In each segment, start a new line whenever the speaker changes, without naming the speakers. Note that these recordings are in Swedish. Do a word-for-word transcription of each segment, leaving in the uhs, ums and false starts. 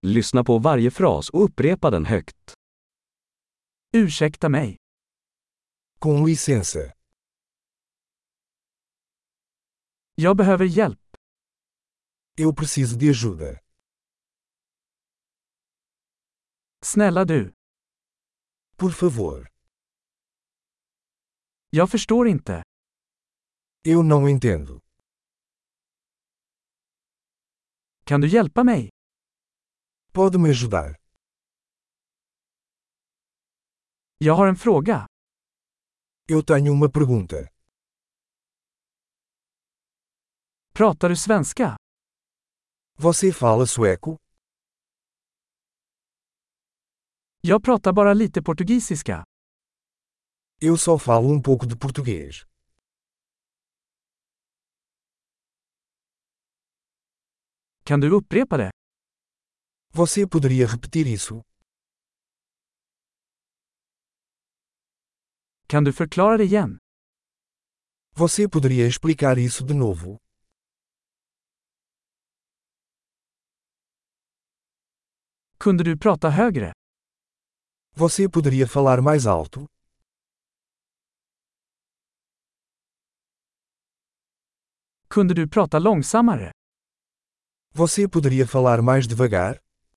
Lyssna på varje fras och upprepa den högt.
Ursäkta mig.
Com licença.
Jag behöver hjälp.
Eu preciso de ajuda.
Snälla du.
Por favor.
Jag förstår inte.
Eu não entendo.
Kan du hjälpa mig?
Pode me ajudar?
Jag har en fråga.
Eu tenho uma pergunta.
Pratar du svenska?
Você fala sueco?
Jag pratar bara lite portugisiska.
Eu só falo um pouco de português.
Kan du upprepa det?
Você poderia repetir isso?
Kan du förklara det igen?
Você poderia explicar isso de novo?
Kunde du prata högre?
Você poderia falar mais alto?
Kunde du prata långsammare?
Você poderia falar mais devagar?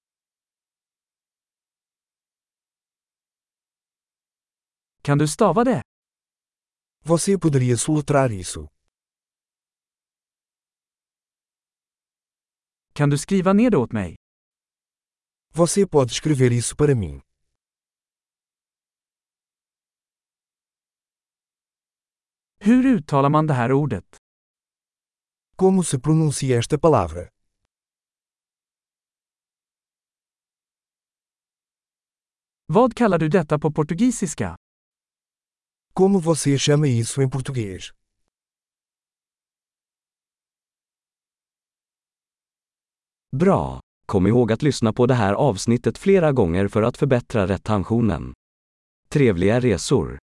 Kan du stava det?
Você poderia soletrar isso?
Kan du skriva ner det åt mig?
Você pode escrever isso para mim?
Hur uttalar man det här ordet?
Como se pronuncia esta palavra?
Vad kallar du detta på portugisiska?
Como você chama isso em português?
Bra! Kom ihåg att lyssna på det här avsnittet flera gånger för att förbättra retentionen. Trevliga resor!